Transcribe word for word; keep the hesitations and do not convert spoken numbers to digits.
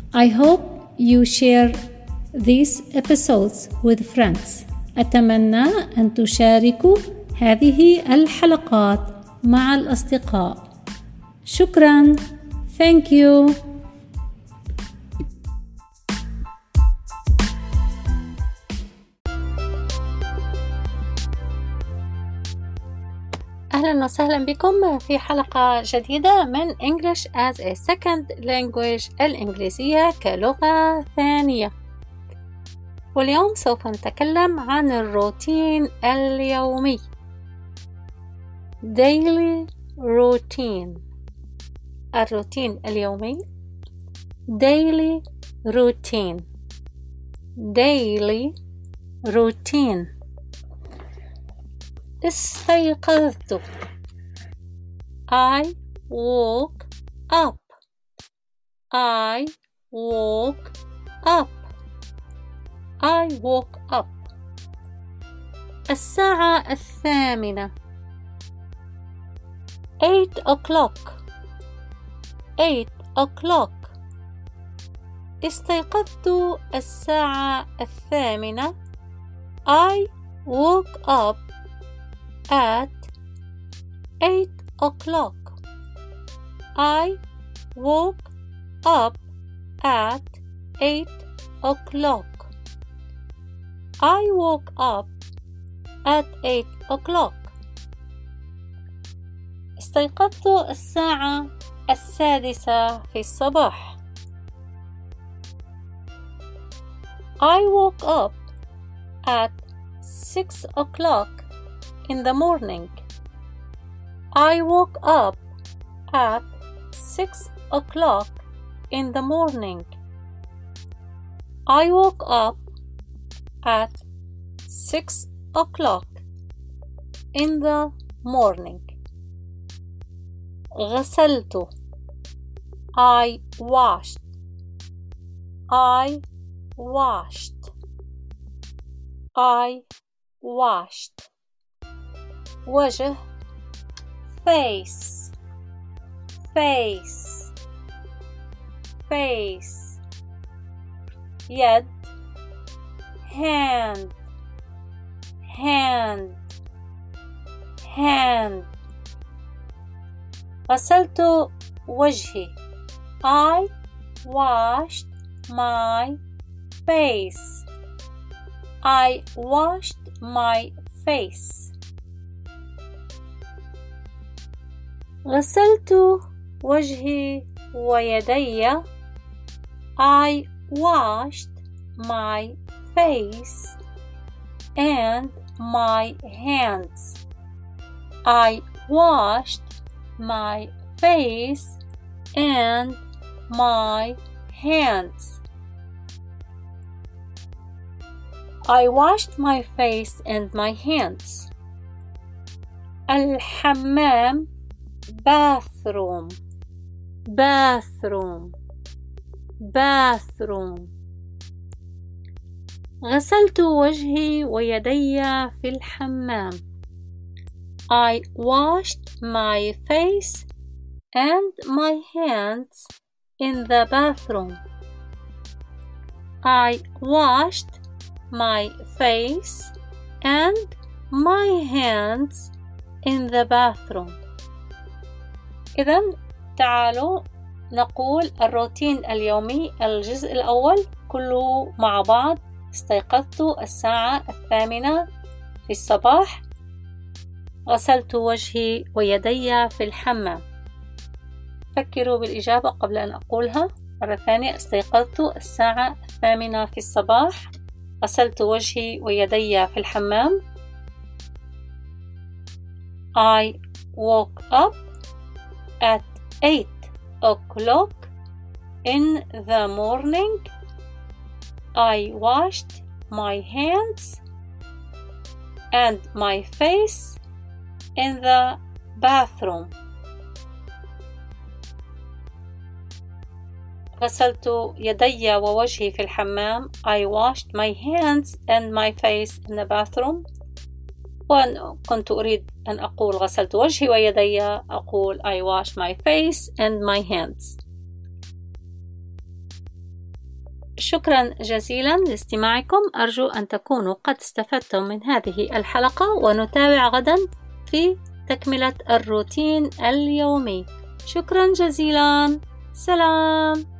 I hope you share these episodes with friends. أتمنى أن تشاركوا هذه الحلقات مع الأصدقاء. شكراً. Thank you. أهلا وسهلا بكم في حلقة جديدة من English as a Second Language، الإنجليزية كلغة ثانية. واليوم سوف نتكلم عن الروتين اليومي. Daily routine. الروتين اليومي. Daily routine. Daily routine. استيقظت. I woke up. I woke up. I woke up. الساعة الثامنة. Eight o'clock. Eight o'clock. استيقظت الساعة الثامنة. I woke up at eight o'clock. I woke up at eight o'clock. I woke up at eight o'clock. استيقظت الساعة السادسة في الصباح. I woke up at six o'clock in the morning. I woke up at six o'clock in the morning. I woke up at six o'clock in the morning. غسلت. I washed. I washed. I washed. وجه. face. face. face. يد. hand. hand. hand. غسلت وجهي. I washed my face. I washed my face. غسلت وجهي ويدي. I washed my face and my hands. I washed my face and my hands. I washed my face and my hands. الحمام. bathroom. bathroom. bathroom. غسلت وجهي ويدي في الحمام. I washed my face and my hands in the bathroom. I washed my face and my hands in the bathroom. إذن تعالوا نقول الروتين اليومي. الجزء الأول كله مع بعض. استيقظت الساعة الثامنة في الصباح. غسلت وجهي ويدي في الحمام. فكروا بالإجابة قبل أن أقولها مرة ثانية. استيقظت الساعة الثامنة في الصباح. غسلت وجهي ويدي في الحمام. I woke up at eight o'clock in the morning. I washed my hands and my face in the bathroom. غسلت يدي ووجهي في الحمام. I washed my hands and my face in the bathroom. وأن كنت أريد أن أقول غسلت وجهي ويدي، أقول I washed my face and my hands. شكرا جزيلا لاستماعكم. أرجو أن تكونوا قد استفدتم من هذه الحلقة، ونتابع غدا في تكملة الروتين اليومي. شكرا جزيلا. سلام.